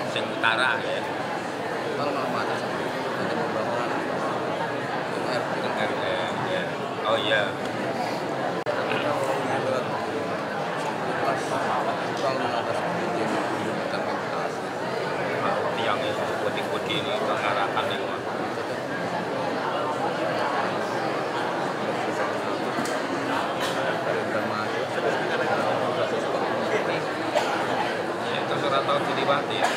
sing utara ya. Kalau mau mana sama nanti pembangunan RT ya. Oh iya. Tiang itu putih-putih ini pengarahan itu. Ya, terserah tahu diliwati ya.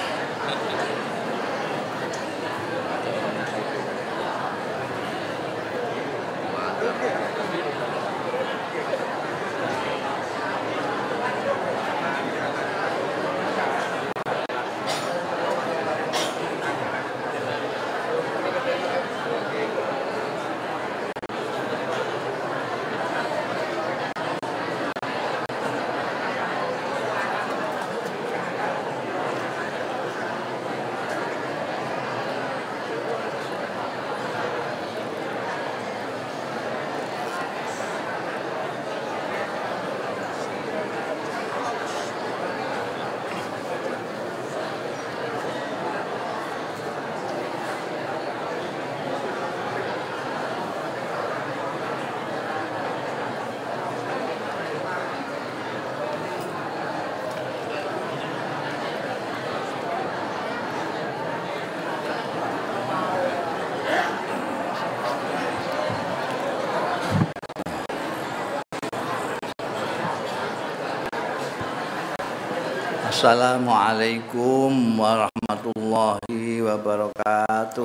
Assalamualaikum warahmatullahi wabarakatuh.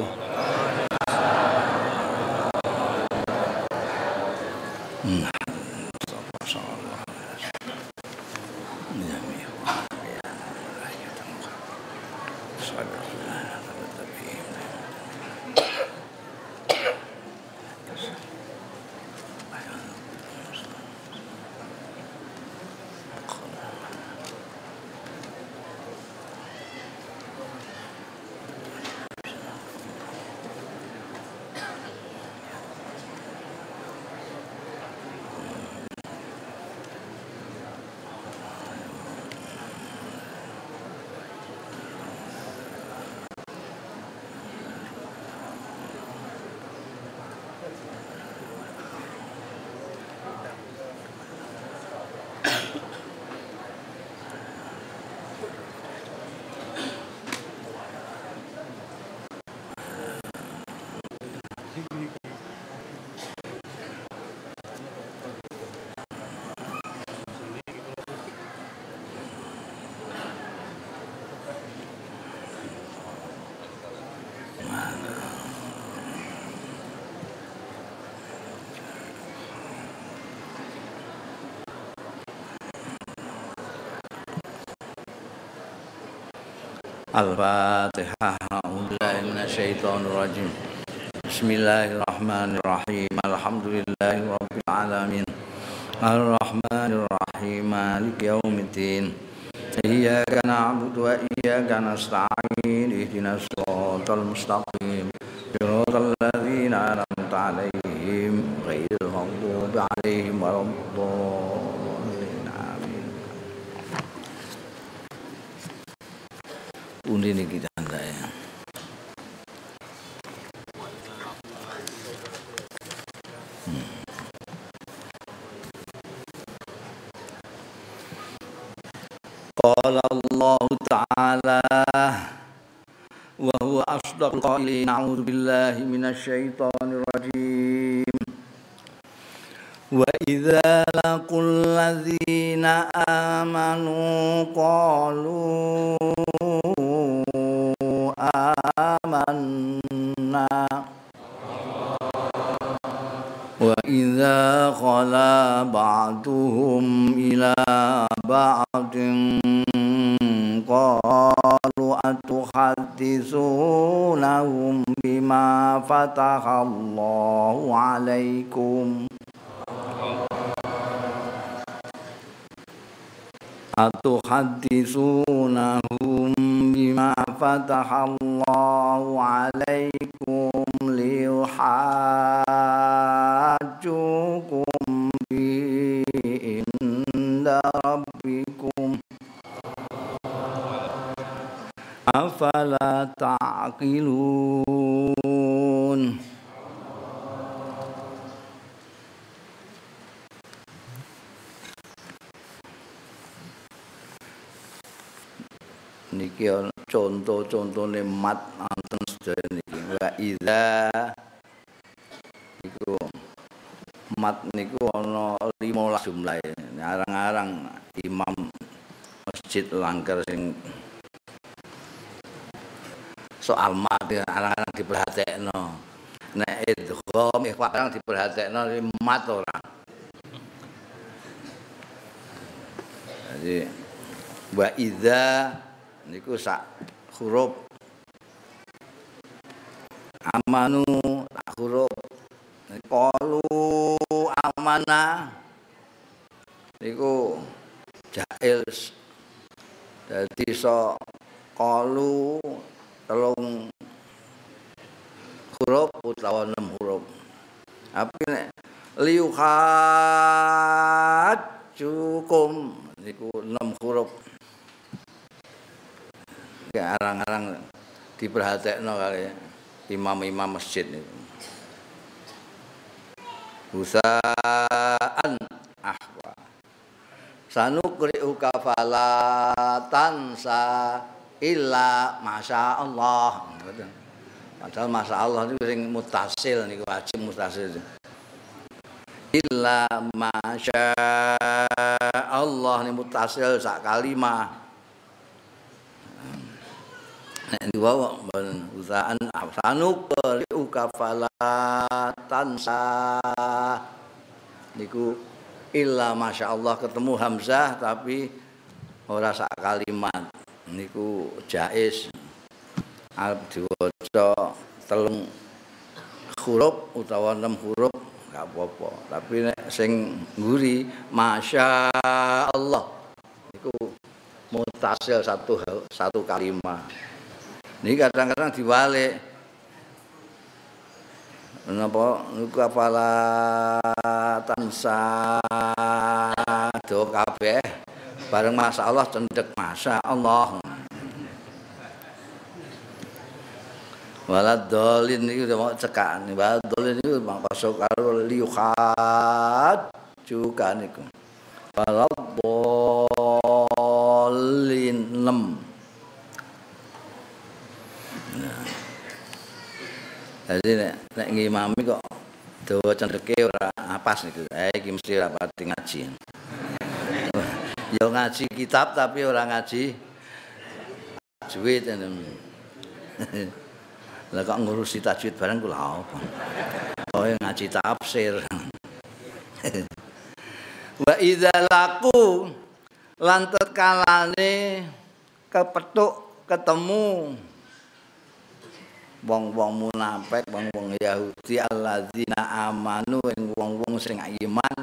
Al-Fatihah. A'udzubillahi minasyaitonir rajim. Bismillahirrahmanirrahim. Alhamdulillahirabbil alamin. Ar-Rahmanir Rahim. Maliki yaumiddin. Iyyaka na'budu wa iyyaka nasta'in. Ihdinas shiratal mustaqim. Shiratal ladzina an'amta 'alaihim ghairil maghdubi 'alaihim waladdallin. Undi ni kita anda ya. Qala Allah Ta'ala wa huwa asdaqul qailin. A'udzu billahi minasyaitonir rajim. Wa idza laqul ladzina amanu qalu amanna wa idza khala ba'duhum ila ba'din qalu atuhadditsunahum bima fatahallahu 'alaikum atuhadditsunahum bima fatahallahu 'alaikum liyuhajjukum bi inda rabbikum afala ta'qilun. Niki contoh-contohne mat wonten sedaya niki. Wa idza iku mat niku ana 15 jumlahe. Arang-arang imam masjid Langker sing soal mat arang-arang diperhatekno. Nek idgham ikhfa arang diperhatekno mat ora. Jadi wa idza niku sak huruf amanu sak huruf qalu amana niku jail dadi so qalu telung huruf utawa 6 huruf tapi nek liuhat cukum niku 6 huruf. Arang-arang diperhatekno kali imam-imam masjid niku. Husaan ahwa. Sanukri'uka fala tansa illa masyaallah. Padahal masyaallah niku sing mutasil niku wajib mutasil. Illa masyaallah niku mutasil sak kalimah. Nek diwawa usaan sanuk uka fala tansa niku illa masyaallah ketemu hamzah tapi ora sak kalimat niku jaiz arep diwaca 3 huruf utawa 6 huruf gak apa-apa tapi nek sing nguri masyaallah niku mutasil satu kalimat. Ini kadang-kadang diwalik. Napa niku apala tansa do kabeh bareng masyaallah cendhek masyaallah. Walad dolin niku mau cekak. Walad dolin niku masuk karo liuhat juga niku. Walad dolin 6. Jadi nek ngimami kok dawa cendheke ora pas niku. Iki mesti ora pati ngaji. Ya ngaji kitab tapi ora ngaji tajwid. Lah kok ngurusi tajwid barang kula apa? Oh ngaji tafsir. Wa idza laqu lan tatkalane kepethuk ketemu wong-wong munafik, wong-wong Yahudi alladzina amanu ing wong-wong sing iman.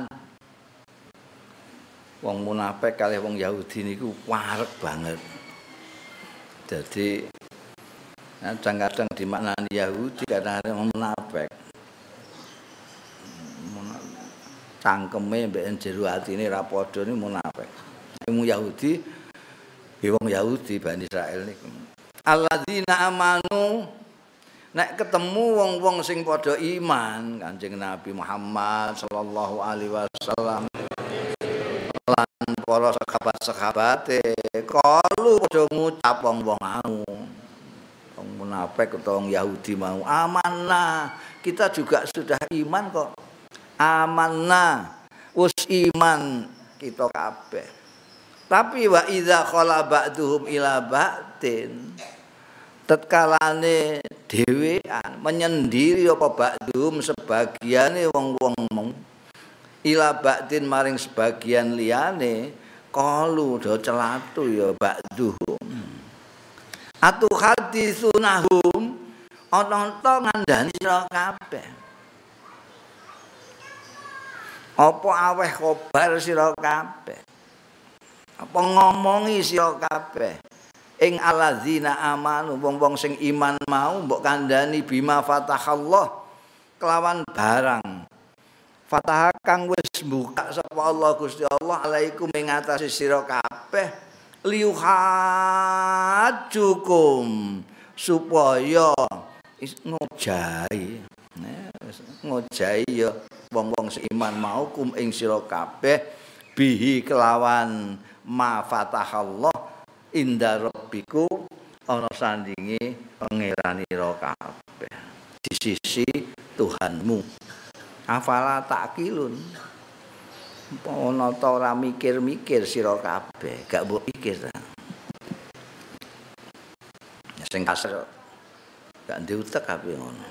Wong munafik kalih wong Yahudi niku wareg banget. Jadi kadang-kadang dimaknani Yahudi kadang-kadang munafik. Cangkeme mbek jero atine ra padha niku munafik. Wong Yahudi wong Yahudi Bani Israil niku. Alladzina amanu nek ketemu wong-wong sing padha iman Kanjeng Nabi Muhammad sallallahu alaihi wasallam lan para sahabat-sahabate kalu padha ngucap wong-wong mau wong munafik utawa wong Yahudi mau amanah kita juga sudah iman kok amanah wis iman kita kabeh tapi wa idza khala ba'duhum ila ba'din tatkalane dhewean menyendiri apa ba'dhum sebagiane wong-wong ila ba'din maring sebagian liyane qalu do celatu ya ba'dhum atu hadisunahum ana to ngandani sira kabeh apa aweh khobar sira kabeh apa ngomongi sira kabeh ing alladzina amanu wong-wong sing iman mau mbok kandhani bima fatahallah kelawan barang fatah kang wis buka sapa Allah Gusti Allah alaikum ing atase sira kabeh liuhajukum supaya ngojahi ngojahi ya wong-wong seiman mau kum ing sira kabeh bihi kelawan ma fatahallah inda rabbiku ana sandinge pangeranira kabeh di sisi Tuhanmu. Afala takilun. Ana ta ora mikir-mikir sira kabeh, gak mbok pikir ta. Sing kasar gak diutek kabeh ngono.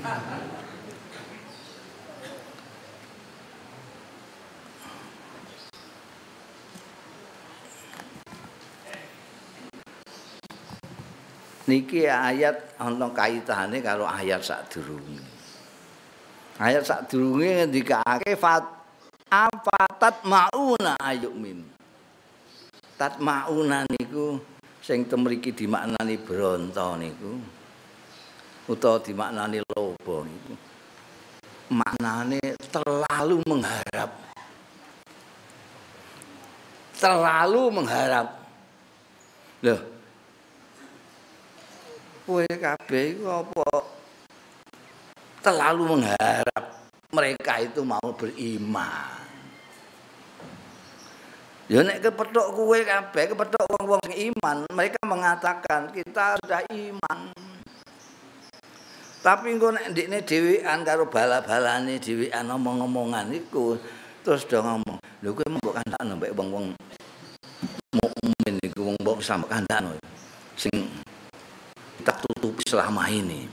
Niki ayat ana kaitane karo ayat sadurunge. Ayat sadurunge ngendikake afatat mauna ayumin. Tat mauna niku sing temriki dimaknani bronto niku utawa dimaknani loba niku. Maknane terlalu mengharap. Terlalu mengharap. Loh. Kowe kabeh iku apa terlalu mengharap mereka itu mau beriman. Ya nek kepethuk kowe kabeh, kepethuk wong-wong sing iman, mereka mengatakan kita sudah iman. Tapi engko nek ndekne dhewean karo bala-balane dhewean omong-omongan iku terus do ngomong, lho kowe mbok kandhakno mbek wong-wong mukmin iku wong mbok sampe kandhakno sing tak tutupi selama ini.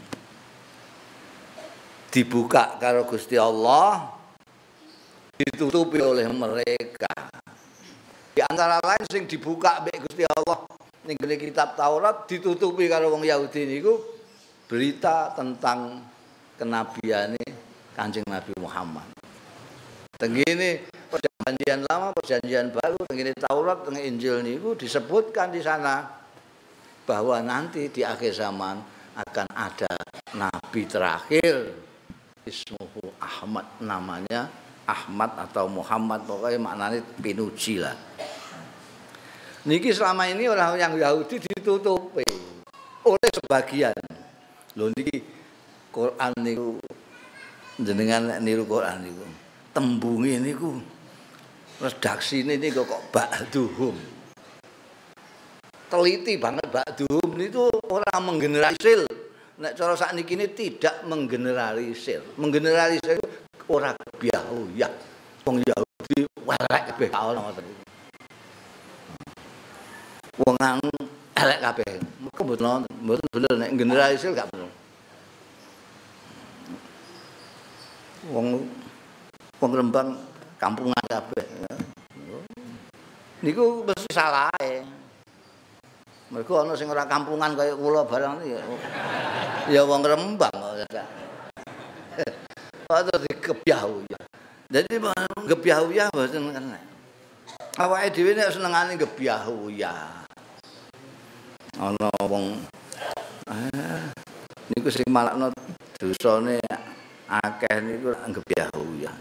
Dibuka karo Gusti Allah, ditutupi oleh mereka. Di antara lain sing dibuka mbek Gusti Allah ning kitab Taurat ditutupi karo wong Yahudi niku berita tentang kenabiane Kanjeng Nabi Muhammad. Tengene perjanjian lama, perjanjian baru, tengene Taurat, tengene Injil niku disebutkan di sana bahwa nanti di akhir zaman akan ada nabi terakhir ismuhu Ahmad, namanya Ahmad atau Muhammad, pokoknya maknanya pinuji lah. Niki selama ini orang yang Yahudi ditutupi oleh sebagian. Lho niki Quran niku jenengan niru Quran niku. Tembunge niku redaksine niku kok ba'duhum. Teliti banget ba'duhum itu orang menggeneralisir. Nek cara sakniki ini tidak menggeneralisir. Menggeneralisir ora kebiahuyah. Wong Yahudi elek kabeh ana ngoten. Wong anu elek kabeh. Mengko mboten bener nek generalisir gak bener. Wong Rembang kampungan kabeh. Niku mesti salahe. Mergo ana sing ora kampungan kaya kula barang ya wong Rembang kok. Atau dikebyahuyah. Jadi gebyahuyah mboten kena. Awake dhewe nek senengane gebyahuyah. Ana wong niku sing malakno dosane akeh niku gebyahuyah.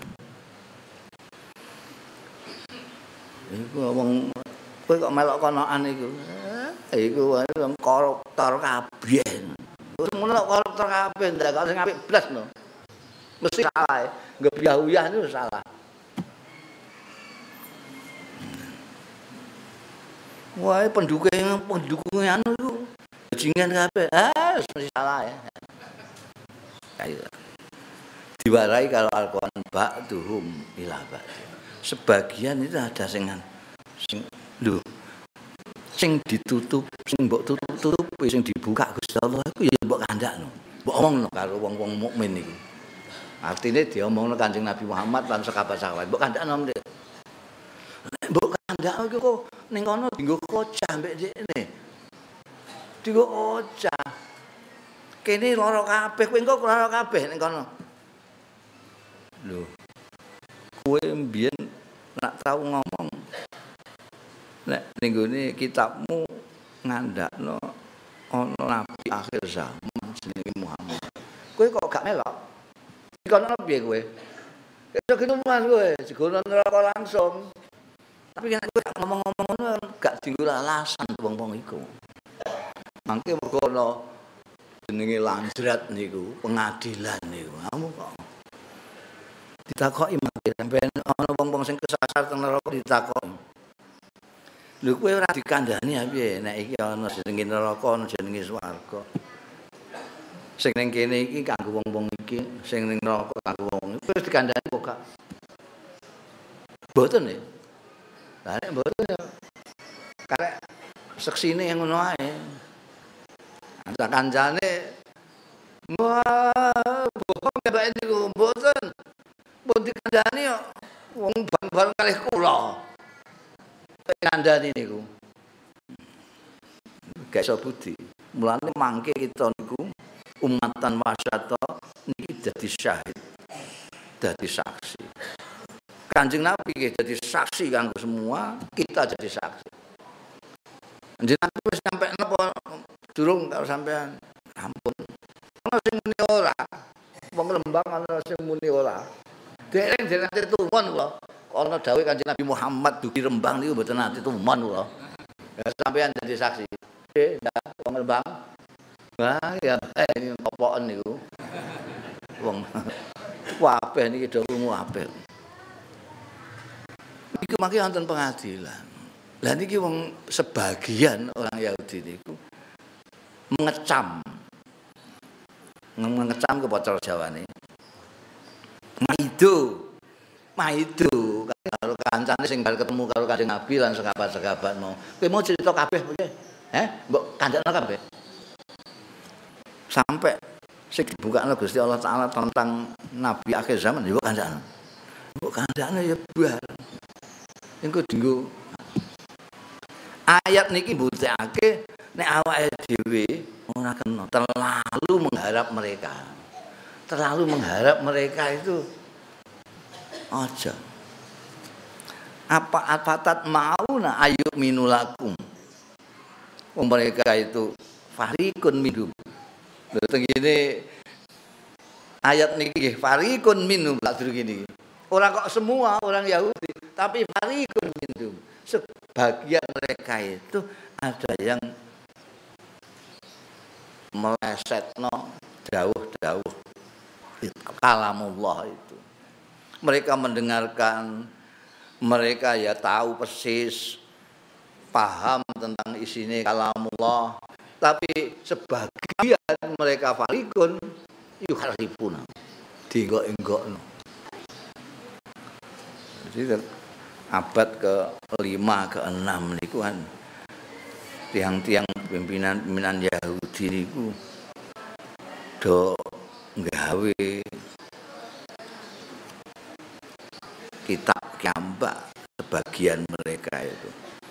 Iku wong kowe kok melok konoan iku. Iku wae wong koruptor kabeh. Wis ngono kok koruptor kabeh ndak kok sing apik blas lho. Mesti salah. Gebyahuyah itu salah. Wae pendukung anu iku bajingan kabeh. Mesti salah ya. Kayak diwarai kalau Al-Qur'an ba'duhum ila ba'd. Sebagian itu ada sing lho sing ditutup, sing mbok tutup-tutupi, sing dibuka Gusti Allah iku ya mbok kandhakno. Mbok omongno karo wong-wong mukmin iku. Artine diomongno Kanjeng Nabi Muhammad lan sahabat-sahabat. Mbok kandhakno ndek. Mbok kandhakno iku kok ning kono dienggo kocah mbek dekne. Dienggo kocah. Kene lara kabeh, kowe engko lara kabeh ning kono. Lho. Kowe mbiyen nak tau ngomong nek ning gone kitabmu ngandakno ana nabi akhir zaman jenenge Muhammad. Kowe kok gak melok? Dikono piye kowe? Iso gitu mas kowe, digono neraka langsung. Tapi kan kowe ngomong-ngomong ngono gak dienggo alasan wong-wong iku. Mangke mergo ana jenenge lanjrat niku, pengadilan niku. Kamu kok ditakoki mangke sampeyan ana wong-wong sing kesasar teng neraka ditakoki. Lho kowe ora dikandhani ya piye nek iki ana jenenge neraka ana jenenge swarga. Sing ning kene iki kanggo wong-wong iki, sing ning neraka kanggo wong iki wis dikandhani kok gak. Mboten ya. Lah nek mboten ya karek seksine ngono ae. Ada kancane wah bohong ya Mbak niku mboten. Pun dikandhani kok wong bareng kalih kula. Kandhani niku. Gak iso budi. Mulane mangke kita niku umatan wasata niki dadi syahid. Dadi saksi. Kanjeng Nabi jadi saksi kanggo semua, kita jadi saksi. Jenengan wis sampe napa durung karo sampean? Ampun. Ana sing muni ora. Wong Lembang ana sing muni ora. Dereng nate tuwon kula. Ana dawuh Kanjeng Nabi Muhammad dugi Rembang niku mboten nate tuwon kula. Ya sampean jadi saksi. Wong Lembang. Wah, ya ini opoken niku. Wong kabeh niki do krungu apik. Iku mangke wonten pengadilan. Lah niki wong sebagian orang Yahudi niku mengecam ke bocor Jawane. Maido karo kancane sing bal ketemu karo Kanjeng Nabi lan sekabat-sekabat mau. Kowe mau cerita kabeh piye? Mbok kandhakno kabeh. Sampai sing dibukakno Gusti Allah Taala tentang nabi akhir zaman ya mbok kandhakno. Mbok kandhakno ya bar. Engko dinggo ayat niki mbuktekake nek awake dhewe ora kena terlalu mengharap mereka. Terlalu mengharap mereka itu aja. Apa afatat mauna ayuk minulakum. Mereka itu farikun minhum. Lha tengene ayat niki farikun minhum lak durung ngene. Ora kok semua orang Yahudi, tapi farikun minhum. Sebagian mereka itu ada yang melesetno dawuh-dawuh kalamullah itu. Mereka mendengarkan, mereka ya tahu persis, paham tentang isinya kalamullah, tapi sebagian mereka farikun yuharifuna, dienggok-enggokno. Jadi abad ke-5 ke-6 niku kan tiang-tiang pimpinan Yahudi niku do nggawe kitab kiambak sebagian mereka itu.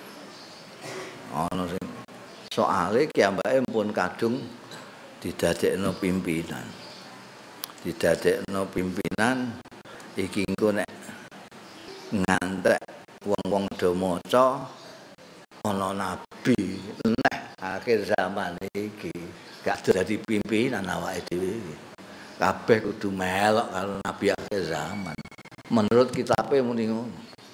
Ono sing soale kiambake pun kadung didadekno pimpinan. Didadekno pimpinan iki engko nek ngantek wong-wong do maca ana nabi nek akhir zaman iki gak dadi pimpinan awake dhewe iki. Kabeh kudu melok karo nabi akhir zaman. Menurut kitabe muni ngono.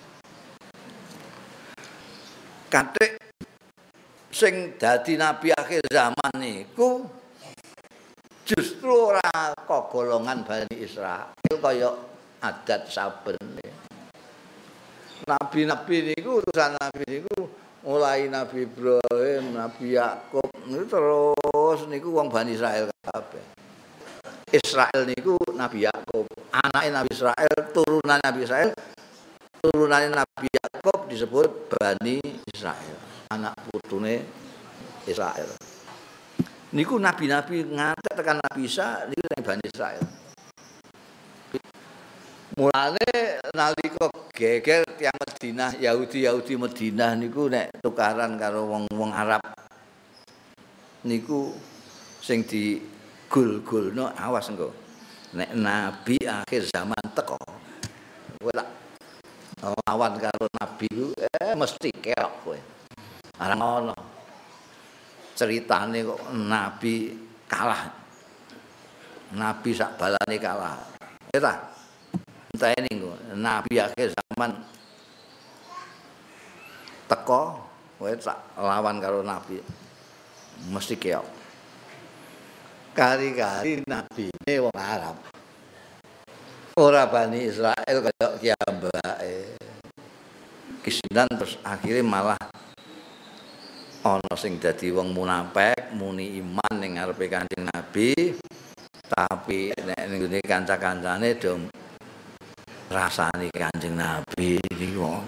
Kathik sing dadi nabi akhir zaman niku justru ora kogolongan Bani Israil kaya adat saben. Nabi-nabi niku utusan nabi niku mulai Nabi Ibrahim, Nabi Yakub niku terus niku wong Bani Israil kabeh. Israel niku Nabi Yakub, anake Nabi Israel, turunan Nabi Israel, turunane Nabi Yakub disebut Bani Israel, anak putune Israel. Niku nabi-nabi ngantek tekan Nabi Isa niku Bani Israel. Mulane nalika geger tiyang Madinah, Yahudi Madinah niku nek tukaran karo wong-wong Arab niku sing digul-gulno awas engko. Nek nabi akhir zaman teko. Kowe tak lawan karo nabi ku mesti keok kowe. Arang ono. Ceritane kok nabi kalah. Nabi sak balane kalah. Ya ta? Enteni engko nabi akhir zaman teko kowe tak lawan karo nabi. Mesti keok. Kari-kari nabine wong Arab. Ora Bani Israil kaya kiambake. Kisinan terus akhirnya malah ana sing dadi wong munafik, muni iman ning ngarepe Kanjeng Nabi, tapi nek ning ngene kanca-kancane do rasani Kanjeng Nabi iki wong.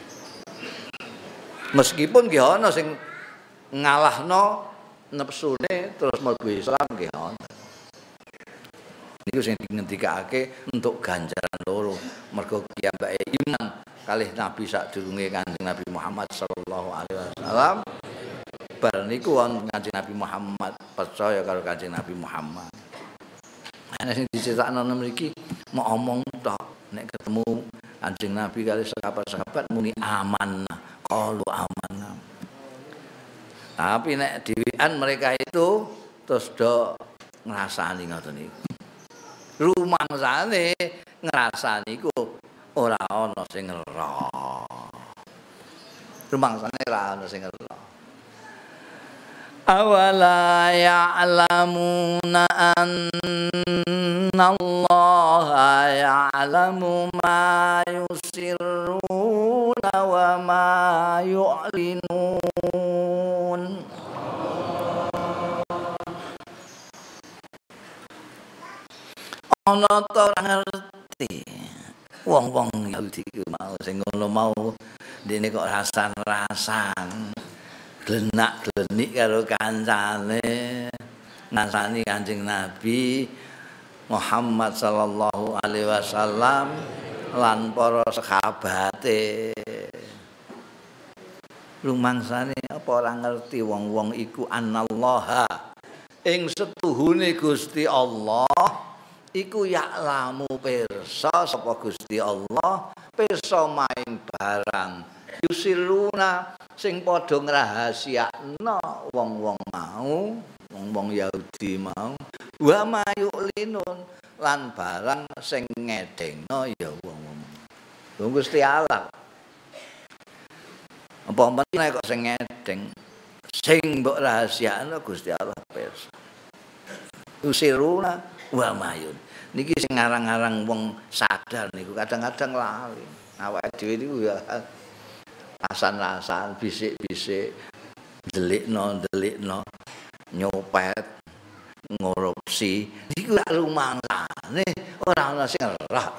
Meskipun nggih ana sing ngalahno nepsune terus mlebu Islam nggih ana. Niku sing ngendikake untuk ganjaran loro, mergo piyambake iman kalih Nabi sadurunge Kanjeng Nabi Muhammad sallallahu alaihi wasallam. Bar niku wonten Kanjeng Nabi Muhammad percaya karo Kanjeng Nabi Muhammad. Ana sing dicetakno mriki mau omong tok nek ketemu Kanjeng Nabi kali sahabat-sahabat muni amanah, qalu amanah. Tapi nek dhewean mereka itu terus do ngrasani ngoten niku. Rumangsane ngrasani iku ora ana sing ero. Rumangsane ora ana sing ero. Awala ya'lamuna annallaha ya'lamu ma yusirruna wa ma yu'linun. Ana ta ora ngerti wong-wong Yahudi ku mau sing ngono mau dene kok rasan-rasan glenak-glenik karo kancane ngasani Kanjeng Nabi Muhammad sallallahu alaihi wasallam lan para sahabate. Rumangsane apa ora ngerti wong-wong iku anallaha ing setuhune Gusti Allah iku ya'lamu pirsa sapa Gusti Allah pirsa maing barang yusiruna sing padha ngrahasiakno wong-wong mau wong-wong Yahudi mau wa mayulinun lan barang sing ngedengno ya wong-wong Gusti Allah apa meneh kok sing ngedeng sing mbok rahasiakno Gusti Allah pirsa yusiruna wa mayun niki sing ngarang-arang wong sadar niku kadang-kadang lali awake dhewe niku ya asan-asan bisik-bisik delikno nyopet ngorupsi niku lak rumangsane ora ana sing ora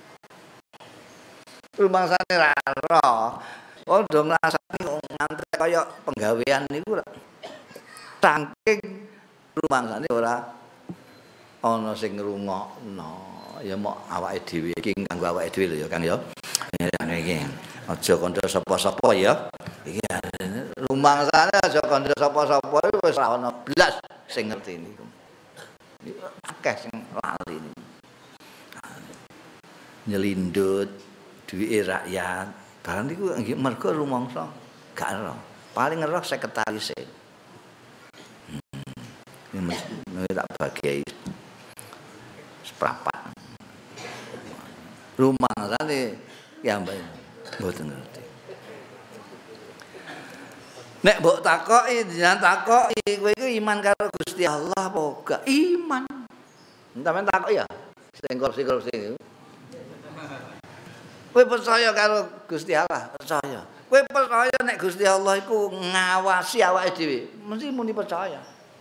rumangsane ra ora padha ngrasani ngantek kaya penggawean niku saking rumangsane ora ana sing ngrungokno ya mok awake dhewe iki kanggo awake dhewe lho ya Kang ya. Iki aja kandha sapa-sapa ya. Iki rumangsane aja kandha sapa-sapa wis ora ana blas sing ngerti niku. Akeh sing lali niku. Nyelindut duwike rakyat. Barang niku nggih mergo rumangsa gak ero. Paling ero sekretarise. Ini tak bagai seprapat. Rumangsane ya mbak mboten ngerti. Nek mbok takoki jenengan takoki kowe iku iman karo Gusti Allah apa gak? Iman. Sampeyan takok ya. Sing korupsi-korupsi. Kowe percaya karo Gusti Allah? Percaya. Kowe percaya nek Gusti Allah iku ngawasi awake dhewe? Mesti muni percaya.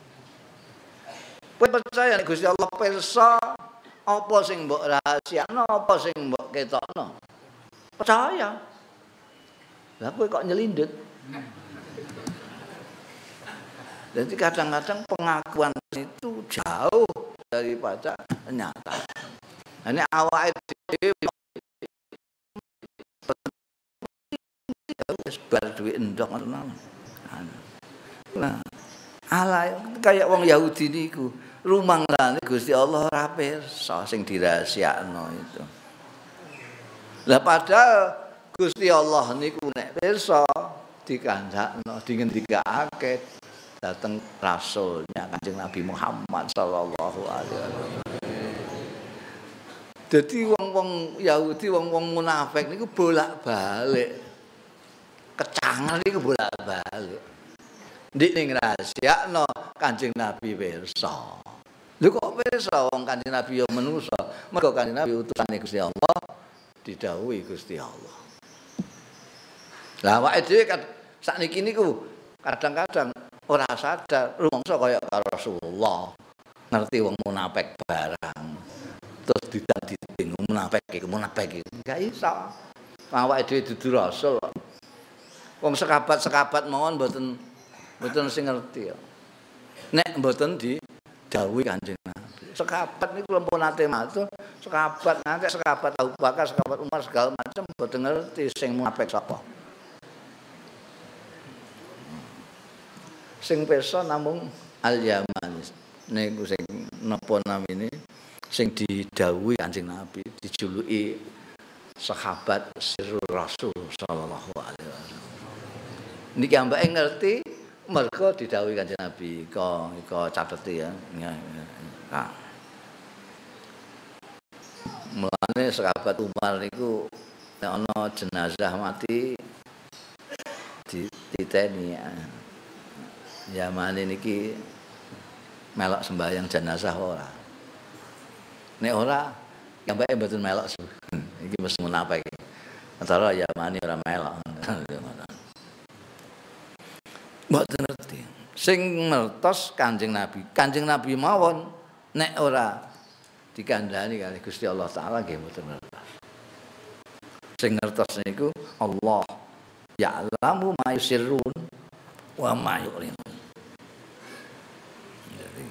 Kowe percaya nek Gusti Allah pirsa apa sing mbok rahasiakno, apa sing mbok ketokno? Percaya. Lah kowe kok nyelindut? Jadi kadang-kadang pengakuan itu jauh daripada nyata. Ini awake dhewe wis bar duwe endok ngono. Nah, ala kayak wong Yahudi niku, rumangsane Gusti Allah ora pirsa sing dirahasiakno itu. Lah padahal Gusti Allah niku nek pirsa dikandakno, dingendikake dateng rasulnya Kanjeng Nabi Muhammad sallallahu alaihi wasallam. Dadi wong-wong Yahudi, wong-wong munafik niku bolak-balik. Kecangan niku bolak-balik. alik. Ndik ning rahasiakno Kanjeng Nabi pirsa. Lho kok pirsa wong Kanjeng Nabi ya manusa. Mergo Kanjeng Nabi utusane Gusti Allah didhawuhi Gusti Allah. Lah awake dhewe sakniki niku kadang-kadang ora sadar rumangsa kaya karo Rasulullah. Ngerti wong munafik barang. Terus ditadi bingung munafik iki. Enggak iso. Awake dhewe dudu rasul. Wong sekabat-sekabat mawon mboten sing ngerti ya. Nek mboten didhawuhi Kanjeng Nabi. Sekabat niku lampun nate matur, sekabat nganti sekabat Abu Bakar, sekabat Umar segala macam mboten ngerti sing munafik sapa. Sing pirsa namung Al-Yaman niku sing napa namine sing didhawuhi Kanjeng Nabi, dijuluki sahabat Sirrul Rasul sallallahu alaihi wasallam. Niki ambake ngerti mergo didhawuhi Kanjeng Nabi. Iko cateti ya. Nah. Mulane sahabat Umar niku nek ana jenazah mati dititeni ya. Zaman niki melok sembahyang jenazah ora. Nek ora ambake mboten melok. Iki mesti munafik. Antara Yamani ora melok. Mboten ngerti. Sing ngertos Kanjeng Nabi. Kanjeng Nabi mawon nek ora dikandhani kali Gusti Allah taala nggih mboten ngertos. Sing ngertos niku Allah ya'lamu ma yusirrun wa ma yu'lin. Jadi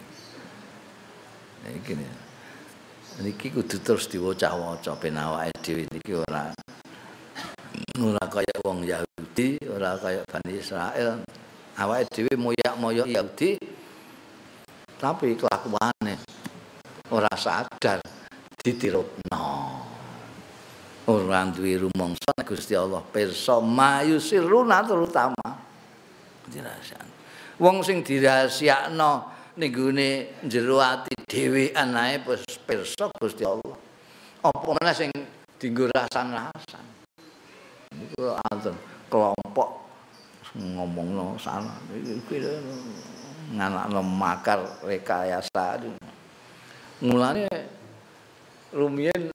niki kudu terus diwaca-waca ben awake dhewe niki ora kaya wong Yahudi, ora kaya Bani Israil. Awake dhewe moyak-moyak Yahudi tapi kelakuane ora sadar ditirupno. Ora duwe rumangsa Gusti Allah pirsa mayusiruna terutama dirahasiakan. Wong sing dirahasiakno ning gone jero ati dhewean ae pirsa Gusti Allah. Apa meneh sing dienggo rasan-rasan. Niku anten kelompok ngomongno salah iki nganakno makar rekayasa. Mulane rumiyin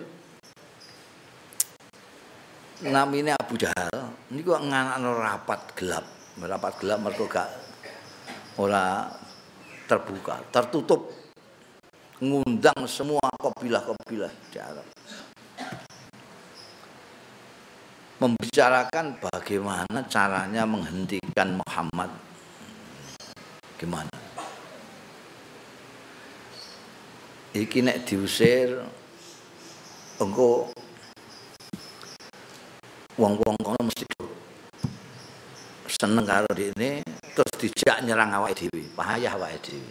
namine Abu Jahal niku nganakno rapat gelap mergo gak ora terbuka, tertutup, ngundang semua kabilah-kabilah di Arab. Membicarakan bagaimana caranya menghentikan Muhammad. Gimana? Iki nek diusir engko wong-wong kono mesti seneng karo dene terus dijak nyerang awake dhewe, bahaya awake dhewe.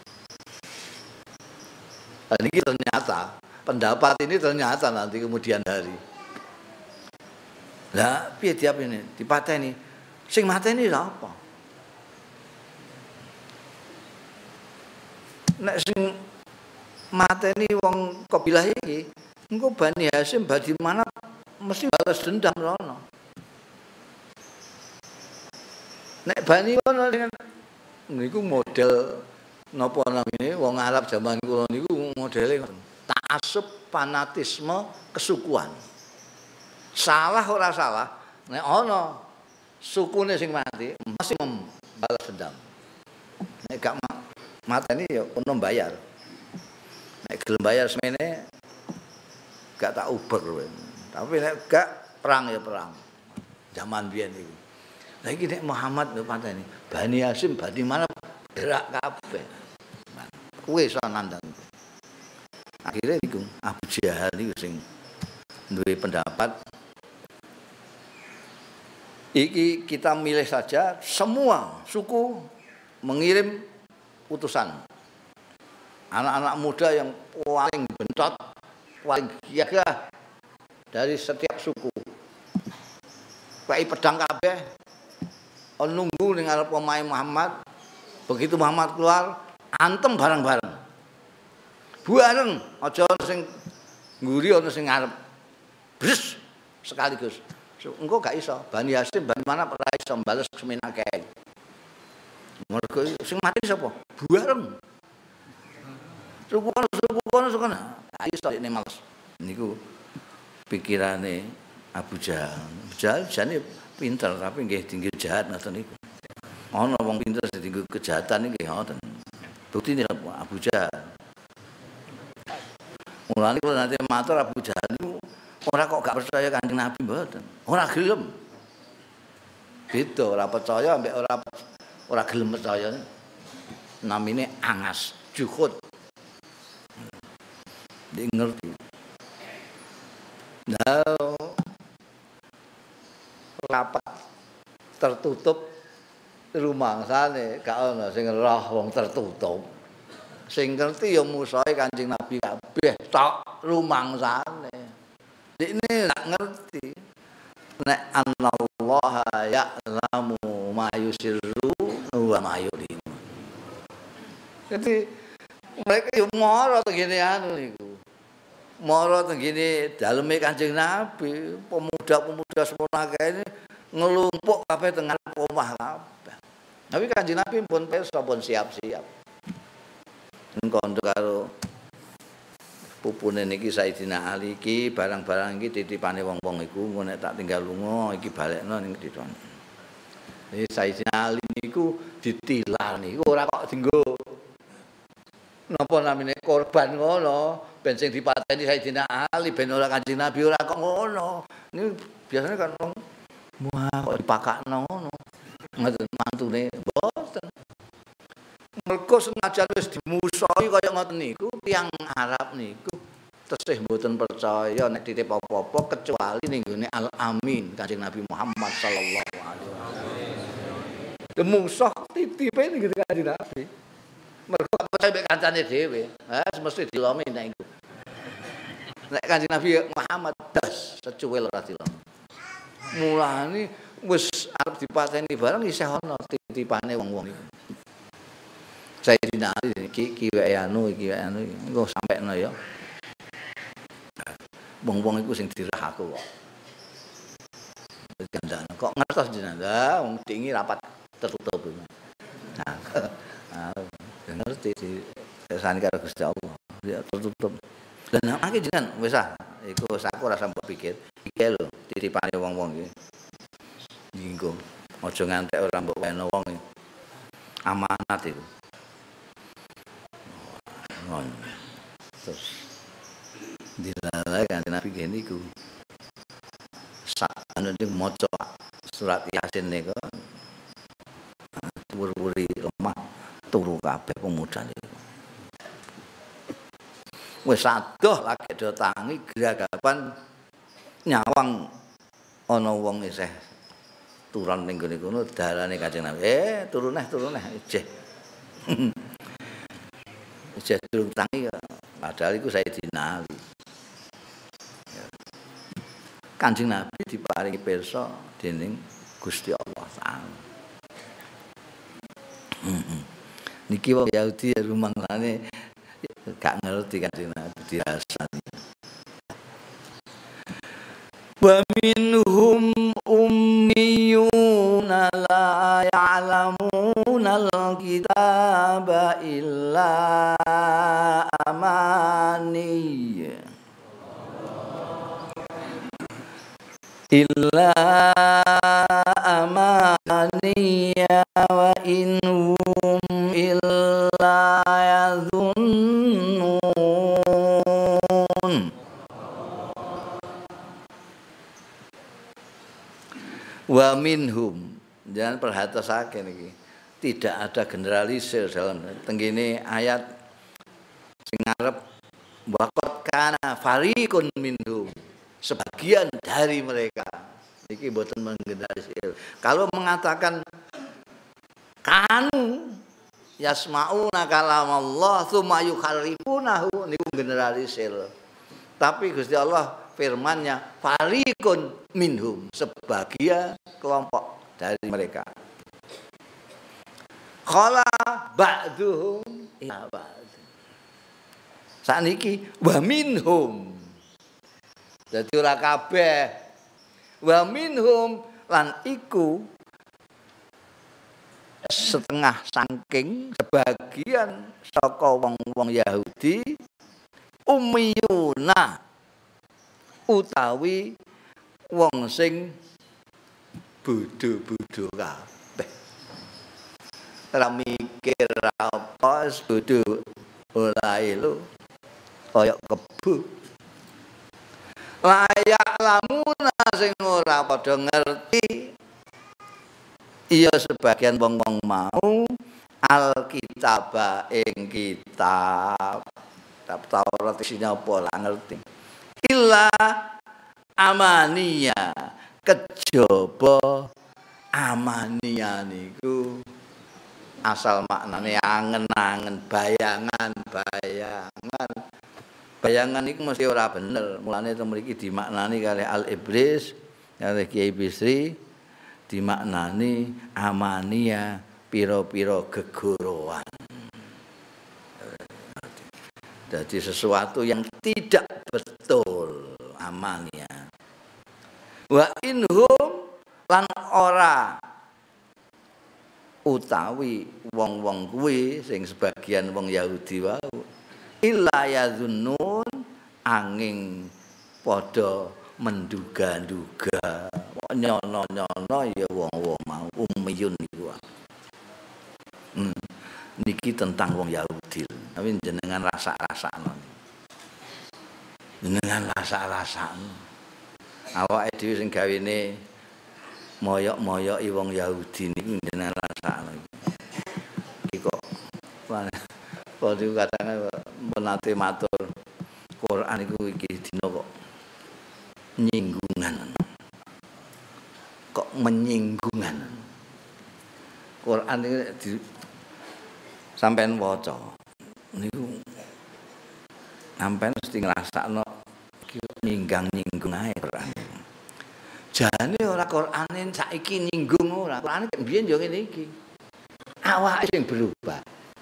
Dan ini ternyata pendapat ini ternyata nanti kemudian hari. Lah piye diapine? Dipateni. Sing mateni lha apa? Nek sing mateni wong kabilah iki, engko Bani Hasyim badi mana mesti balas dendam rono. Nek Bani kono niku model napa namine wong Arab zaman kula niku modele ta'assub, fanatisme, kesukuan. Salah ora salah, nek ana sukune sing mati mesti balas dendam. Nek gak mateni ya ono bayar. Nek gelem bayar semene gak tak uber kowe. Tapi nek gak perang ya perang. Zaman biyen iku. Lah iki nek Muhammad lho pateni, Bani Hasyim badi mana gerak kabeh. Kuwi iso nandang. Akhire iku Abu Jahal iku sing duwe pendapat iki kita milih saja semua suku mengirim utusan. Anak-anak muda yang paling bentot, paling gagah dari setiap suku. Kai pedang kabeh nunggu ning arep omahe Muhammad. Begitu Muhammad keluar, antem bareng-bareng. Bareng, aja sing ngguri ana sing ngarep. Bres sekaligus. Engko gak iso. Bani Hasyim bani mana ora iso bales semen akeh. Mergo sing mati sapa? Buareng. Suku kono. Ayo stokne males. Niku pikirane Abu Jahal. Abu Jahal jane pinter tapi nggih tinggi jahat ngoten niku. Ana wong pinter dienggo kejahatan nggih ngoten. Buktine Abu Jahal. Mulane kula nate matur Abu Jahal niku ora kok gak percaya Kanjeng Nabi mboten. Ora gelem. Beda ora percaya ambek ora gelem percaya. Namine angas, juhud. Dia ngerti. Nah, rapat tertutup rumangsane gak ana sing roh wong tertutup. Sing ngerti ya musuhe Kanjeng Nabi kabeh tok rumangsane. Dikne gak ngerti. Nek anallaha ya'lamu ma yusirru wa ma yu'lin. Jadi mereka yo mara tengene anu niku. Mara tengene daleme Kanjeng Nabi, pemuda-pemuda semono akeh ngelumpuk kabeh teng omah kabeh. Tapi Kanjeng Nabi pun pirsa pun siap-siap. Engko karo pupune niki Sayyidina Ali iki barang-barang iki titipane wong-wong iku nek tak tinggal lunga iki balekno ning diton. Sayyidina Ali niku ditilar niku ora kok dienggo napa namine korban ngono ben sing dipateni Sayyidina Ali ben ora Kanjeng Nabi ora kok ngono. Ini biasanya kan wong wah kok dipakakno ngono. Ngoten mantune mboten. Mergo senajan wis dimusuhi kaya ngoten niku tiyang Arab niku tesih mboten percaya nek titip apa-apa kecuali ning gone Al-Amin Kanjeng Nabi Muhammad sallallahu alaihi wasallam. Musuh titipe ning gone Kanjeng Nabi. Mergo percaya mek kancane dhewe, mesti dilomi nek iku. Nek Kanjeng Nabi Muhammad das secuwil ora dilomi. Mulane wis arep dipateni bareng isih ana titipane wong-wong iku. Sayyidina Ali iki wae anu engko sampekno ya. Wong-wong iku sing dirah aku kok. Gandane kok ngertos jenengan wong dingi rapat tertutup. Nah, ngerti di kersane karo Gusti Allah. Ya tertutup. Lah nek jenengan wis iku aku ora sampe pikir. Iki lho titipane wong-wong iki. Ninggo aja ngantek ora mbok weno wong iki. Amanat itu. Terus dilalai kan Nabi gini ku saat anu maca surat Yasin niku wuri-wuri lemah turu kabeh pemuda niku wis adoh lagi do tangi geragapan nyawang ana wong isih turun ning gone kono dalane Kanjeng Nabi turun neh ijeh ijeh turun tangi padahal iku Sayyidina Ali. Kanjeng Nabi diparingi pirsa dening Gusti Allah Taala. Niki wong Yahudi rumangsane gak ngerti Kanjeng Nabi dirasani. Wa minhum ummiyuna la ya'lamuna al-kitaba illa amani wa inhum illa yadhunnun. Wa minhum, jangan perhatasake niki. Tidak ada generalisir dalam tenggene ayat sing ngarep waqad kana fariqun minhum. Sebagian dari mereka niki mboten menggeneralisir. Kalau mengatakan kanu yasmauna kalamullah tsumma yuharrifunahu niku generalisir. Tapi Gusti Allah firman-Nya fariqun minhum, sebagian kelompok dari mereka. Qala ba'duhum ila ba'd. Saniki wa minhum. Dadi ora kabeh. Wa minhum lan iku setengah saking sebagian saka wong-wong Yahudi ummiyuna utawi wong sing bodho-bodho kabeh. Ora mikir apa bodho olahe lho kaya kebu. Layak lamuna sing ora padha ngerti iya sebagian wong-wong mau alkitab ing kitab Taurat isinya apa lah ngerti illa amania kejaba amania niku asal maknane angen-angen bayangan iku mesti ora bener mulane teng mriki dimaknani kalih al iblis kalih Kiai Bisri dimaknani amania pira-pira gegorowan. Jadi sesuatu yang tidak betul amania. Wa inhum lan ora utawi wong-wong kuwi sing sebagian wong Yahudi wau illa yadzunnun angin padha menduga-duga nyono-nyono ya wong-wong mau ummiyun niku. Niki tentang wong Yahudi. Tapi jenengan rasa-rasakno. Jenengan rasa-rasakno. Awake dhewe sing gawene moyok-moyoki wong Yahudi niku jenengan rasakno. Iki kok padha kadang menate matur Quran iku iki dina kok nyinggungan. Kok menyinggungan. Quran iki sampean waca niku sampean mesti ngrasakno iki nyinggung ae Quran. Jane ora Qurane saiki nyinggung ora. Qurane mbiyen yo ngene iki. Awake sing berubah.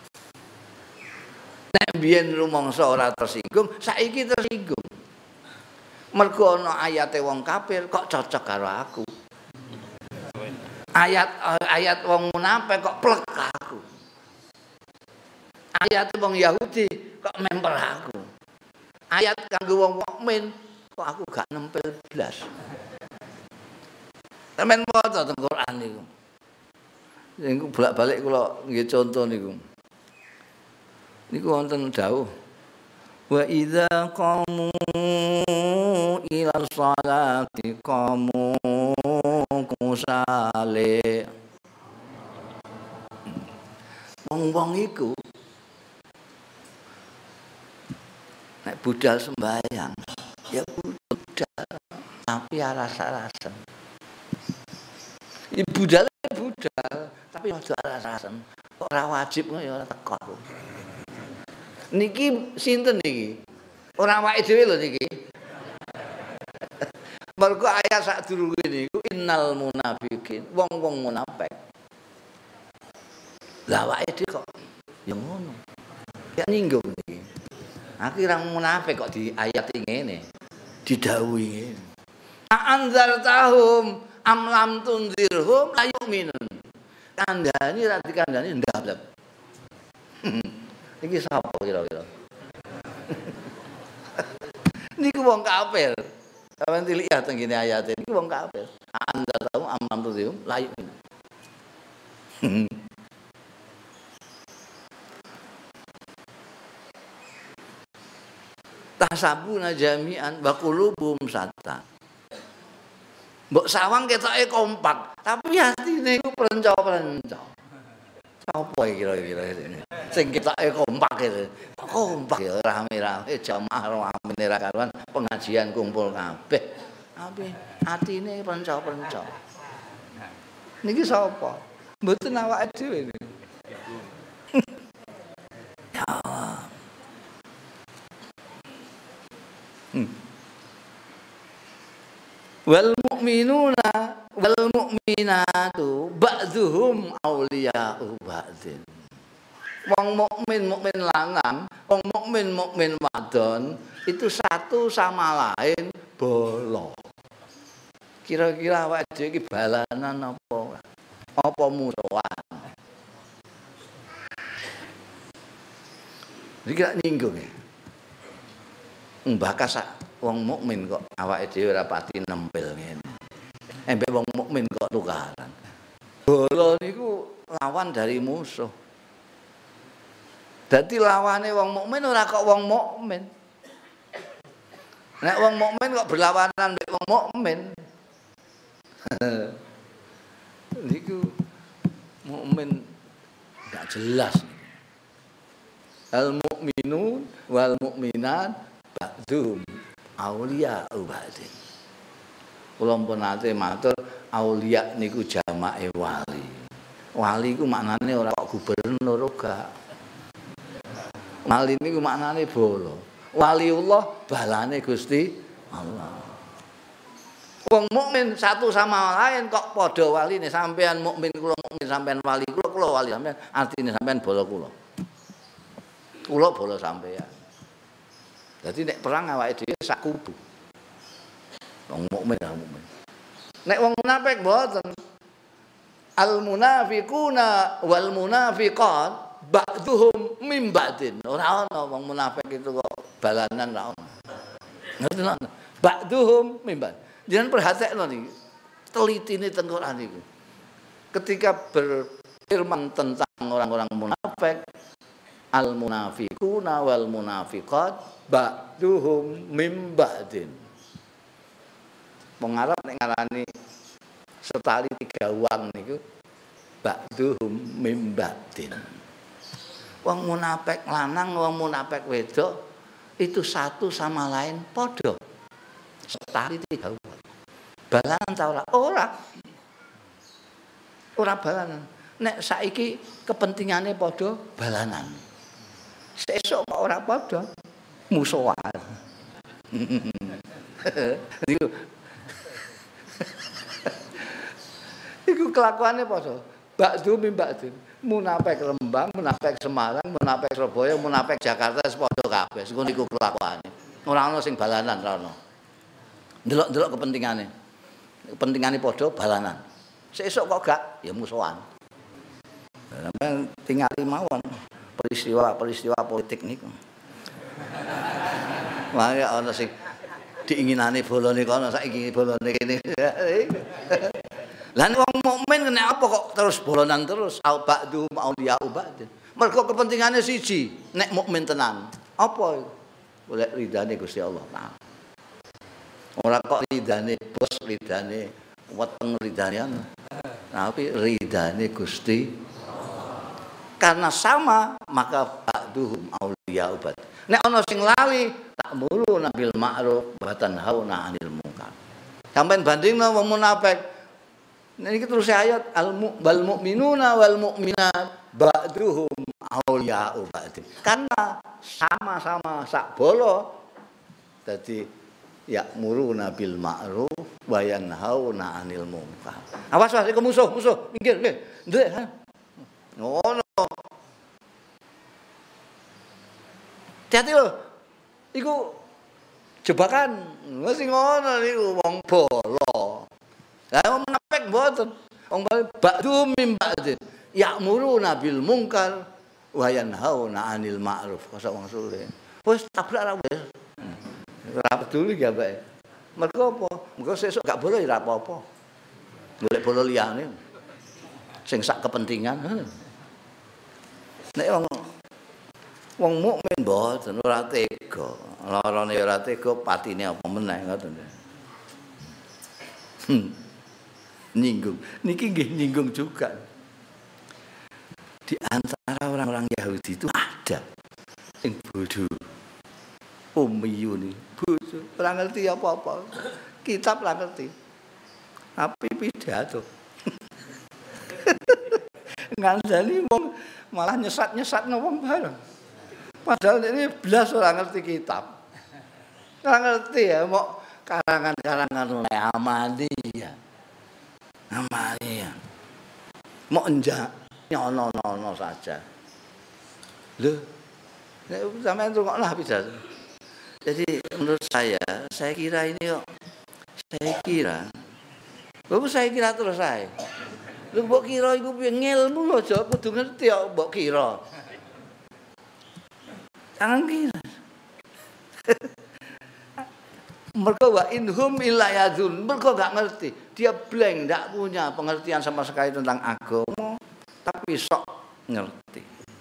Nek mbiyen rumangsa ora tersinggung, saiki tersinggung. Mergo ana ayate wong kafir kok cocok karo aku. Ayat wong munafik kok plek aku. Ayat wong Yahudi kok memper aku. Ayat kanggo wong mukmin kok aku gak nempel blas. Sampeyan maca teng Quran niku. Niku bolak-balik kula nggih conto niku. Niku wonten dawuh wa idza qamu ila sholati qamu kusale. Wong-wong iku nek budal sembahyang ya budal tapi rasa-rasa. Iki budal tapi aja rasa-rasa. Kok ora wajib ya ora teko aku. Niki sinten niki? Ora awake dhewe lho niki. Mergo ayat sadurunge niku innal munafiqin wong-wong munafik. Lah awake dhewe kok ya ngono. Ya nyinggung niki. Akhirnya munafik kok di ayat ngene. Didhawuhi ngene. Anzartahum am lam tunzirhum la yu'minun. Kandhani ra dikandhani ndablek. Iki sapa kira-kira? Niku wong kafir. Sampeyan lihat teng ngene ayat iki wong kafir. Anzartahum am lam tunzirhum la yu'minun. Tasabuna jami'an wa qulubum satta. Mbok sawang ketoke kompak, tapi atine iku prenco-prenco. Sapa kira-kira sing ketoke kompak itu? Kompak ya rame-rame jamaah rame ra karuan pengajian kumpul kabeh. Tapi atine prenco-prenco. Niki sapa? Mboten awake dhewe niki. Ya Allah. Wal mu'minuna wal mu'minatu ba'dzuhum auliya'u ba'din. Wong mukmin lanang, wong mukmin wadon itu satu sama lain bolo. Kira-kira awake dhewe iki balanan apa? Apa musuhan? Iki gak nyinggung ya. Mbakas wong mukmin kok awake dhewe ora pati nempel ngene. Embek wong mukmin kok tukaran. Bola niku lawan dari musuh. Dadi lawane wong mukmin ora kok wong mukmin. Nek wong mukmin kok berlawanan mbek wong mukmin. Niku mukmin gak jelas. Al mukminun wal mukminat ba'dhum auliya ba'din. Kula pun nate matur auliya niku jamake wali. Wali iku maknane ora kok gubernur ora. Wali niku maknane bala. Waliullah balane Gusti Allah. Wong mukmin satu sama lain kok padha waline, sampean mukmin kula mukmin sampean wali kula wali sampean, artine sampean bala kula. Kula bala sampean. Dadi nek perang awake dhewe sak kubu. Wong mukmin lah mukmin. Nek wong munafik mboten. Al munafiquna wal munafiqat ba'dhum min ba'din. Ora ana wong munafik itu kok balanan ra ono. Ngoten lho. Ba'dhum min ba'd. Jangan perhatekno niki. Telitine teng Quran niku. Ketika berfirman tentang orang-orang munafik, al munafiquna wal munafiqat ba'duhum mim ba'din. Wong Arab nek ngarani setali 3 uang niku ba'duhum mim ba'din. Wong munafik lanang, wong munafik wedok itu satu sama lain padha. Setali 3 uang. Balanan ta ora? Ora. Ora balanan. Nek saiki kepentingane padha balanan. Sesuk kok ora padha musuhan. Iku kelakuane padha. Ba'du mim ba'din. Munafik Rembang, munafik Semarang, munafik Surabaya, munafik Jakarta wis padha kabeh. Iku niku kelakuane. Ora ana sing balanan ora ana. Delok-delok kepentingane. Kepentingane padha balanan. Sesuk kok gak ya musuhan. Sampeyan tingali mawon peristiwa politik niku. Mare ana sing diinginane bolone kono saiki bolone kene. Lah wong mukmin kena apa kok terus bolonan terus ba'du auliya ba'din. Mergo kepentingane siji, nek mukmin tenan. Apa iku? Golek ridane Gusti Allah Taala. Ora kok ridane bos, ridane weteng, ridane tapi ridane Gusti. Karena sama maka ba'duhum auliya ba'd. Nek ana sing lali ta'muruna bil ma'ruf wa tanhauna 'anil munkar. Sampeyan bandingno wong munafik. Niki terus ayat al mu'minuna wal mu'minat ba'duhum auliya ba'd. Karena sama-sama sak bolo dadi ya'muruna bil ma'ruf wa yanhauna 'anil munkar. Awas iku musuh, minggir nggih. Ndek. Ngono. Hati-hati lho. Iku jebakan. Wis ngono niku wong bolo. Lah wong munafik mboten. Wong ba'du mim ba'din. Ya'muruna bil munkar wa yanhauna 'anil ma'ruf. Kasa wong sule. Wis tabrak ra wis. Ora peduli ya, Mbak. Mergo apa? Mergo sesuk gak boleh ora apa-apa. Golek bolo liyane. Sing sak kepentingan. Nek wong mukmin mboten ora tega. Larane ora tega, patine apa meneh ngoten. Nyinggung. Niki nggih nyinggung juga. Di antara orang-orang Yahudi itu ada sing bodoh. Ummiyun, bodoh, ora ngerti apa-apa. Kitab ora ngerti. Tapi pidato. Ngandani wong malah nyesat-nyesatno wong bareng. Padahal ini belas ora ngerti kitab. Ora ngerti ya mau karangan-karangan oleh Ahmadiyah. Ahmadiyah. Mau enjak nyono-nono saja. Lho, nek sampeyan rungokno pidato. Jadi menurut saya kira ini kok saya kira terus saya. Lho mbok kira iku piye ngilmu aja kudu ngerti kok mbok kira. Tangan kiri. Mereka wa inhum illa yadzun. Mereka enggak ngerti. Dia blank, enggak punya pengertian sama sekali tentang agama, tapi sok ngerti.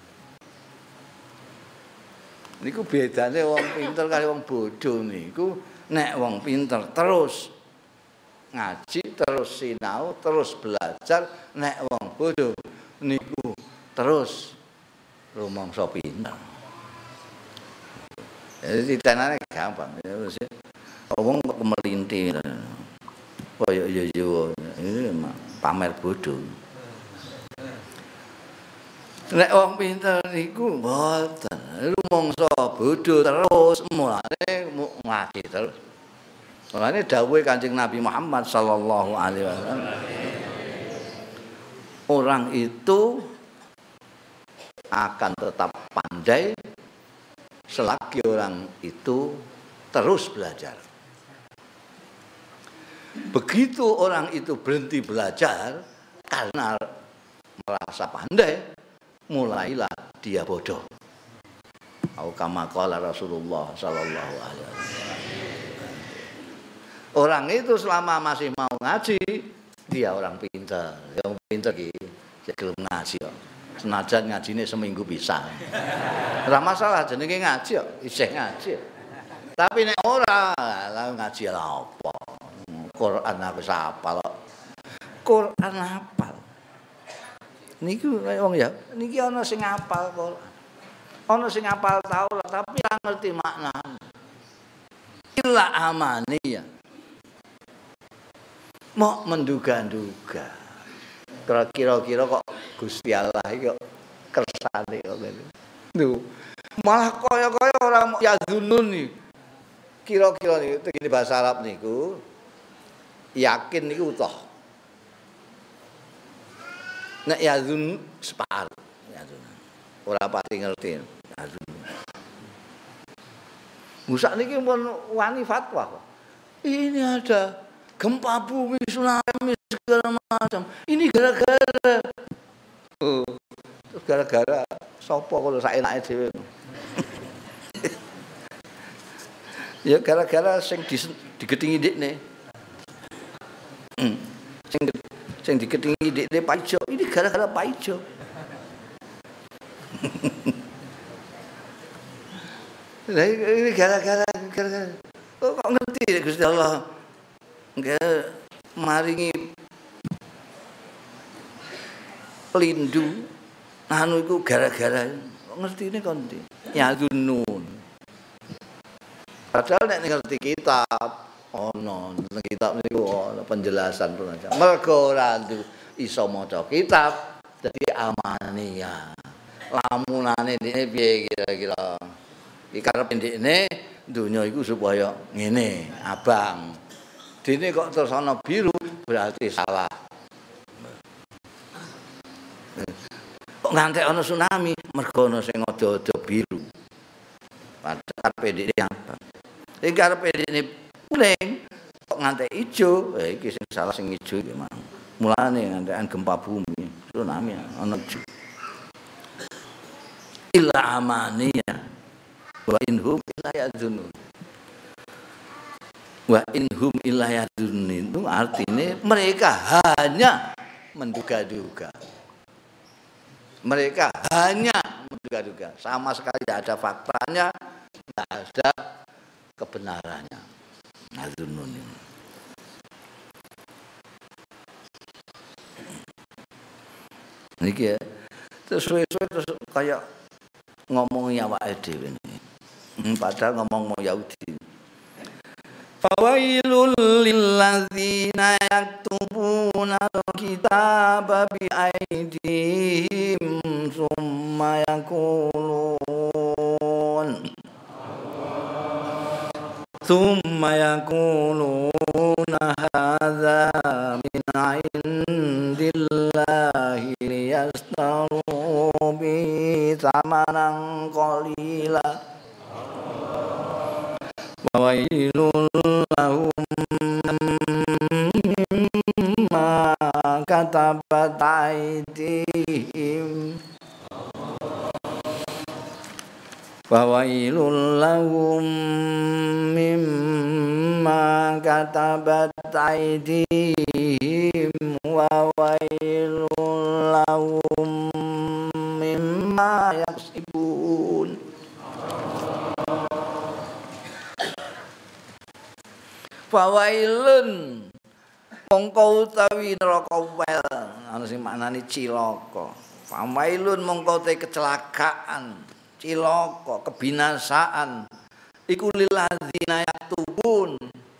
Niku bedane wong pinter karo wong bodoh niku. Nek wong pinter terus ngaji, terus sinau, terus belajar. Nek wong bodoh niku terus rumangsa pinter. Jadi tenane gampang. Wong kok melintir. Kaya yo ini pamer bodoh. Nek wong pinter niku mboten. Rumangsa bodoh terus mulane ngaji terus. Mulane dawuhe Kanjeng Nabi Muhammad sallallahu alaihi wasallam. Orang itu akan tetap pandai selagi orang itu terus belajar. Begitu orang itu berhenti belajar karena merasa pandai, mulailah dia bodoh. Au kama qala Rasulullah sallallahu alaihi wasallam. Orang itu selama masih mau ngaji, dia orang pintar. Yang pintar iki gelem ngaji kok. Senajan ngajine seminggu bisa. Ora masalah jenenge ngaji kok, isih ngaji. Tapi nek ora, lah ngaji lah apa? Quran aku hafal. Quran hafal. Niku wong ya, niki ana sing hafal Quran. Ana sing hafal Taurat tapi ora ngerti maknane. Illa amaniya. Mau menduga-duga. Kira-kira kok Gusti Allah iki kok kersane kok ngene. Lho, malah kaya-kaya orang yazunun nih. Kira-kira niku iki bahasa Arab niku yakin niku utuh. Nek yazun separuh, yazun. Ora pati ngerti yazun. Musa niki pun wani fatwa kok. Ini ada gempa bumi, tsunami segala macam. Ini gara-gara terus gara-gara sapa kalau saenake dhewe. Ya gara-gara sing digetingi ndekne. Sing digetingi ndekne Pak Ijo. Ini gara-gara Pak Ijo. Lah ini gara-gara kok ngerti Gusti Allah. Enggak maringi pelindu anu iku gara-gara ngertine kon ndi ya dunun padahal nek ngerti kitab ono kitab niku ono penjelasan penjelasan mergo ora iso maca kitab dadi amania lamunane dene piye kira-kira iki karepe ndekne donya iku supaya ngene abang dene kok terus ana biru berarti salah. Kok ngantek ana tsunami mergo ana sing ada-ada biru. Padahal PDD apa? Iki karepe dene kuning kok ngantek ijo, iki sing salah sing ijo iki mang. Mulane ngantekan gempa bumi, tsunami ana ijo. Illa amaniya wa inhum illa yadzunun. Wa inhum illa yadzunun itu artinya mereka hanya menduga-duga. Mereka hanya menduga-duga, sama sekali tidak ada faktanya, tidak ada kebenarannya. Yadzunun ini. Niki ya, terus suwe-suwe terus kayak ngomongnya awake dhewe ini. Padahal ngomong mau Yahudi. Fawailul lilladzina yaktubuna al-kitaba bi aydihim summa yaquluna hadza min 'indillahi liyastaru bi thamanan qalila wailul lahum mimma katabat aydihim Fawailul lahum mimma katabat aydihim wa wailul lahum mimma yaksibun. Fawailun mongko utawi neraka wel ana sing maknane cilaka. Fawailun mongko te kecelakaan, cilaka, kebinasaan iku lilladzina yaktubun.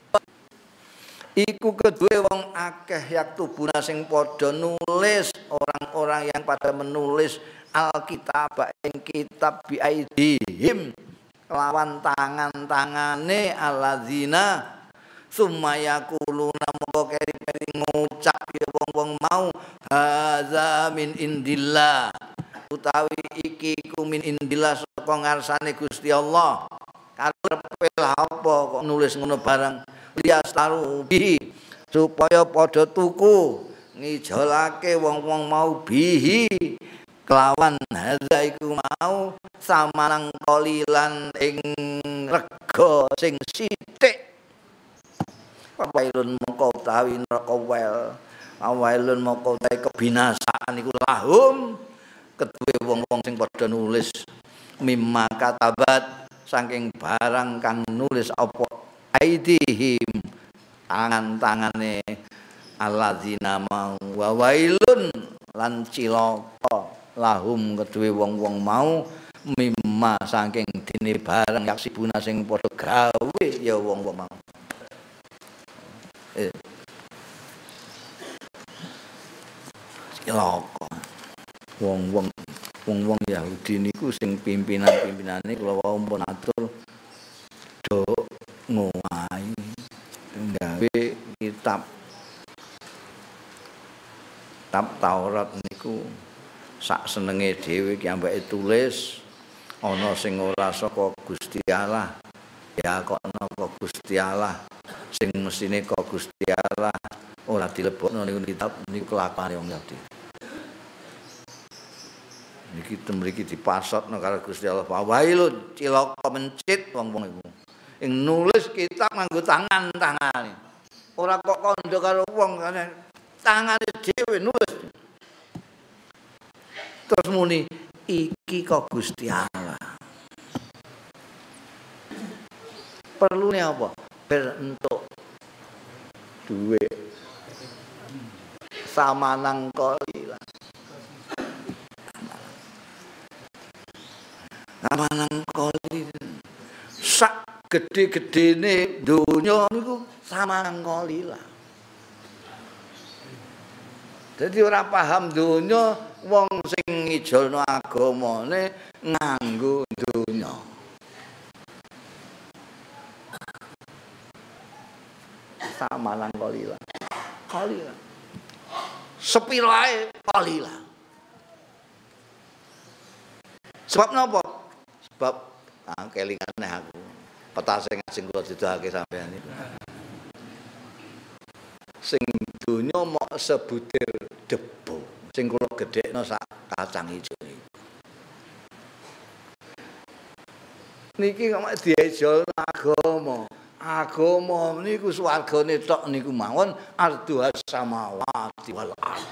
Iku kedue wong akeh yaktubuna sing padha nulis, orang-orang yang pada menulis alkitab ing kitab biaidihim lawan tangan-tangane alladzina sumaya kuluna moko keri-keri ngucap ya wong-wong mau hadza min indillah utawi iki ku min indillah saka ngarsane Gusti Allah. Karepe apa kok nulis ngono barang liastaru bihi supaya padha tuku ngijolake wong-wong mau bihi kelawan hadza iku mau samanang kolilan ing rega sing sithik. Wailun mongko utawi neraka wel, wailun mongko utawi kebinasaan iku lahum kedue wong-wong sing padha nulis mimma katabat saking barang kang nulis apa aidihim tangan-tangane alladzina mau wa wailun lan cilaka lahum kedue wong-wong mau mimma saking dene barang yaksibuna sing padha gawe ya wong-wong mau. Cilaka wong-wong Yahudi niku sing pimpinan-pimpinane kula wau pun atur do ngowahi gawe kitab Taurat niku sak senenge dhewe ki ambeke tulis ana sing ora saka Gusti Allah ya kok napa Gusti Allah sing mesine kok Gusti Allah ora dilebokno niku kitab niku kelakone wong Yahudi. Niki mriki dipasotno karo Gusti Allah. Wailun cilaka mencit wong-wong iku. Ing nulis kitab nganggo tangan-tangane. Ora kok kandha karo wong tangane dhewe nulis. Terus muni iki kok Gusti Allah. Perlune apa? Bentuk duit samanang kolila. Samanang kolila. Sak gede-gedene donya niku samanang kolila. Jadi ora paham donya wong sing ngijolno agamane nganggo donya. Samanang kolila. Kolila. Sepirae kolila. Sebab napa? Sebab kelingane aku. Petase sing kula didhake sampeyan iki. Sing donya mok sebutir debu. Sing kula gedhekno sak kacang ijo iki. Niki kok diejolno agama. Agama niku swargane tok niku mawon arduhas samawati wal ardh.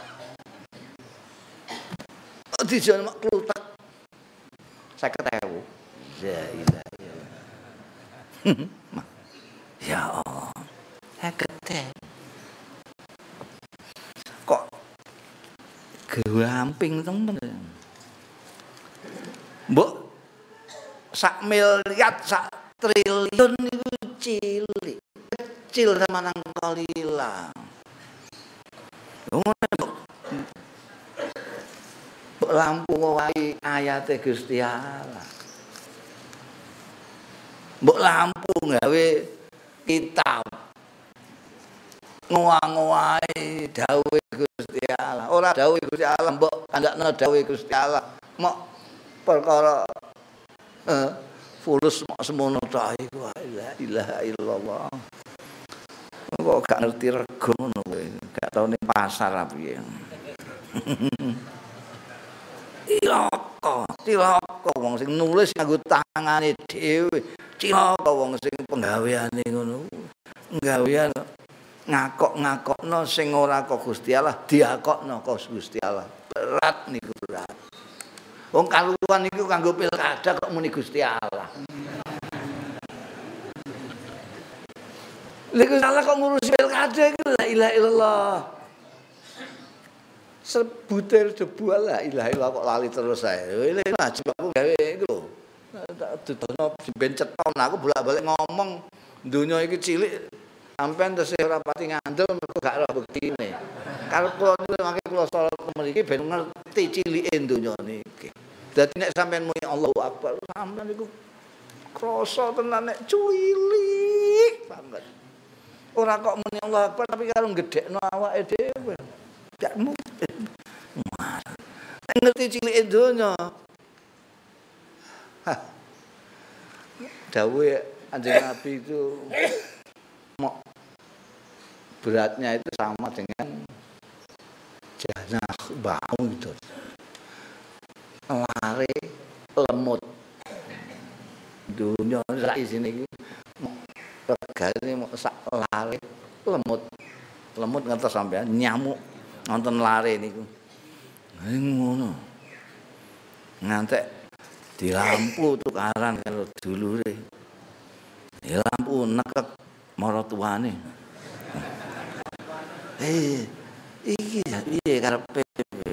Dijon mak kluthek 50.000. Ya ilaha illallah. Ya Allah. 50.000. Kok gamping temen. Mbok sak miliar sak triliun niku cilik, kecil sama nang kolila. Lampu wae ayate Gusti Allah. Mbok lampu gawe kitab. Ngowahi dawuhe Gusti Allah. Ora dawuhe Gusti Allah mbok kandakno dawuhe Gusti Allah. Mok perkara fulus mok semono ta iku la ilaha illallah. Kok gak ngerti rego ngono kowe. Gak tau ning pasar apa piye. Cilaka cilaka wong sing nulis nganggo tangane dhewe. Cilaka wong sing penggaweane ngono. Nggawean ngakok-ngakokno sing ora kok Gusti Allah diakokno kok Gusti Allah. Berat niku berat. Wong kaluruan niku kanggo pilkada kok muni Gusti Allah. Lha salah kok ngurusi pilkada iku la ilaha illallah. Sebutir debu la ilaha illallah kok lali terus ae. Ini najib aku gawe iku lho. Dudono ben ceton aku bolak-balik ngomong donya iki cilik sampean tesih ora pati ngandel mergo gak ora bektine. Kalau kula mangke kula salat mriki ben ngerti cilike donya niki. Dadi nek sampean muni Allahu Akbar sampean niku krasa tenan nek cilik banget. Ora kok muni Allahu Akbar tapi karo gedhekno awake dhewe. Gak mungkin. Ngerti cilike donya. Dawuhe Kanjeng Nabi itu beratnya itu sama dengan janah bau gitu. Lare lemut. Dunia sak isine iki regane mok sak lare lemut. Lemut ngantos sampean nyamuk nonton lare niku. Ngono. Ngantek di lampu tukaran karo dulure. Di lampu nekek marang tuane. Iki ya piye karepe?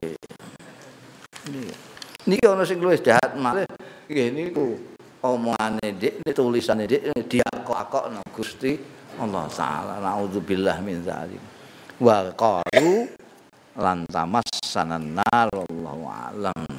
Niki ana sing luwih jahat malih nggih niku omongane Dik, tulisane Dik diakok-akokno Gusti Allah taala. Nauzubillah min dzalik. Wa qalu lan tamassanan nar wallahu alam.